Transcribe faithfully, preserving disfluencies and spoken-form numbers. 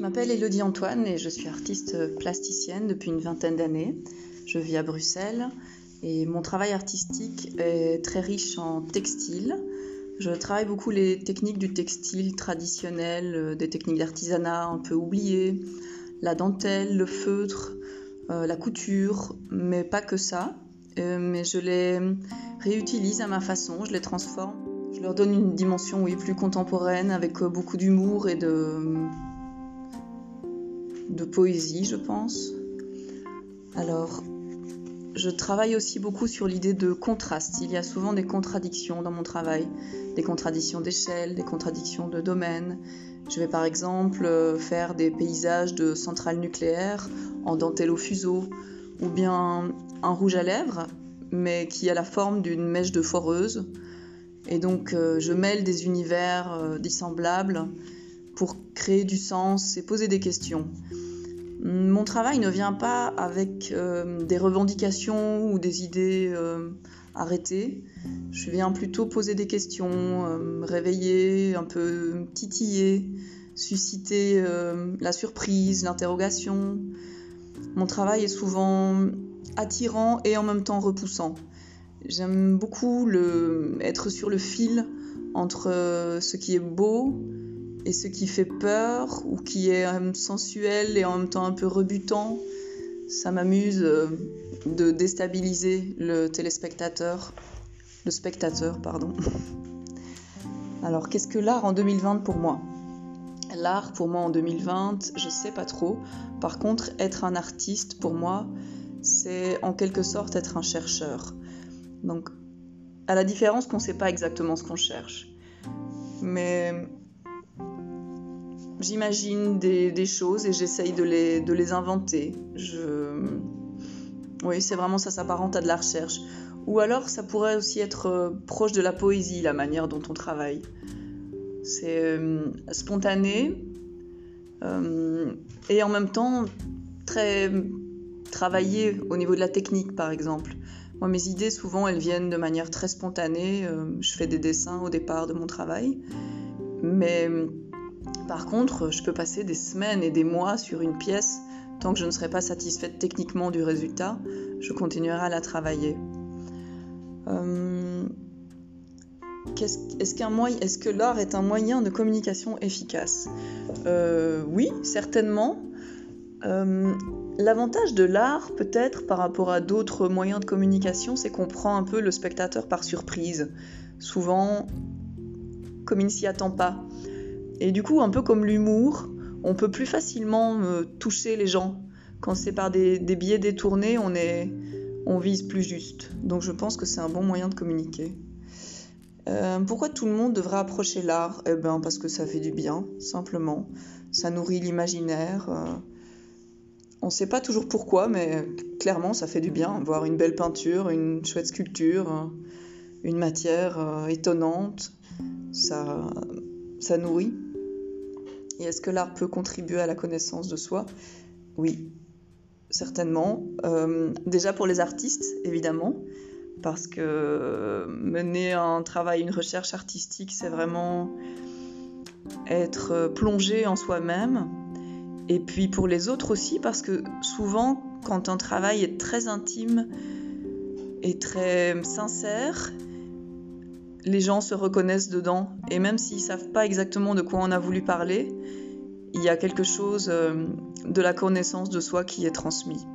m'appelle Élodie Antoine et je suis artiste plasticienne depuis une vingtaine d'années. Je vis à Bruxelles et mon travail artistique est très riche en textile. Je travaille beaucoup les techniques du textile traditionnel, des techniques d'artisanat un peu oubliées, la dentelle, le feutre, euh, la couture, mais pas que ça. Euh, mais je les réutilise à ma façon, je les transforme. Je leur donne une dimension oui, plus contemporaine avec beaucoup d'humour et de, de poésie, je pense. Alors, je travaille aussi beaucoup sur l'idée de contraste. Il y a souvent des contradictions dans mon travail, des contradictions d'échelle, des contradictions de domaine. Je vais par exemple faire des paysages de centrales nucléaires en dentelle au fuseau, ou bien un rouge à lèvres, mais qui a la forme d'une mèche de foreuse. Et donc euh, je mêle des univers euh, dissemblables pour créer du sens et poser des questions. Mon travail ne vient pas avec euh, des revendications ou des idées euh, arrêtées. Je viens plutôt poser des questions, euh, réveiller, un peu titiller, susciter euh, la surprise, l'interrogation. Mon travail est souvent attirant et en même temps repoussant. J'aime beaucoup le, être sur le fil entre ce qui est beau et ce qui fait peur ou qui est sensuel et en même temps un peu rebutant. Ça m'amuse de déstabiliser le téléspectateur, le spectateur, pardon. Alors, qu'est-ce que l'art en deux mille vingt pour moi ? L'art pour moi en deux mille vingt, je sais pas trop. Par contre, être un artiste pour moi, c'est en quelque sorte être un chercheur. Donc, à la différence qu'on ne sait pas exactement ce qu'on cherche. Mais j'imagine des, des choses et j'essaye de les, de les inventer. Je... Oui, c'est vraiment ça, s'apparente à de la recherche. Ou alors, ça pourrait aussi être proche de la poésie, la manière dont on travaille. C'est euh, spontané euh, et en même temps très travaillé au niveau de la technique, par exemple. Moi, mes idées, souvent, elles viennent de manière très spontanée. Euh, je fais des dessins au départ de mon travail. Mais par contre, je peux passer des semaines et des mois sur une pièce. Tant que je ne serai pas satisfaite techniquement du résultat, je continuerai à la travailler. Euh, qu'est-ce, est-ce, qu'un moyen, est-ce que l'art est un moyen de communication efficace ? euh, Oui, certainement. Euh, L'avantage de l'art, peut-être, par rapport à d'autres moyens de communication, c'est qu'on prend un peu le spectateur par surprise. Souvent, comme il ne s'y attend pas. Et du coup, un peu comme l'humour, on peut plus facilement euh, toucher les gens. Quand c'est par des, des biais détournés, on, est, on vise plus juste. Donc je pense que c'est un bon moyen de communiquer. Euh, pourquoi tout le monde devrait approcher l'art ? Eh ben, parce que ça fait du bien, simplement. Ça nourrit l'imaginaire. Euh, On ne sait pas toujours pourquoi, mais clairement, ça fait du bien. Voir une belle peinture, une chouette sculpture, une matière euh, étonnante, ça, ça nourrit. Et est-ce que l'art peut contribuer à la connaissance de soi ? Oui, certainement. Euh, déjà pour les artistes, évidemment, parce que mener un travail, une recherche artistique, c'est vraiment être plongé en soi-même. Et puis pour les autres aussi, parce que souvent, quand un travail est très intime et très sincère, les gens se reconnaissent dedans. Et même s'ils ne savent pas exactement de quoi on a voulu parler, il y a quelque chose de la connaissance de soi qui est transmis.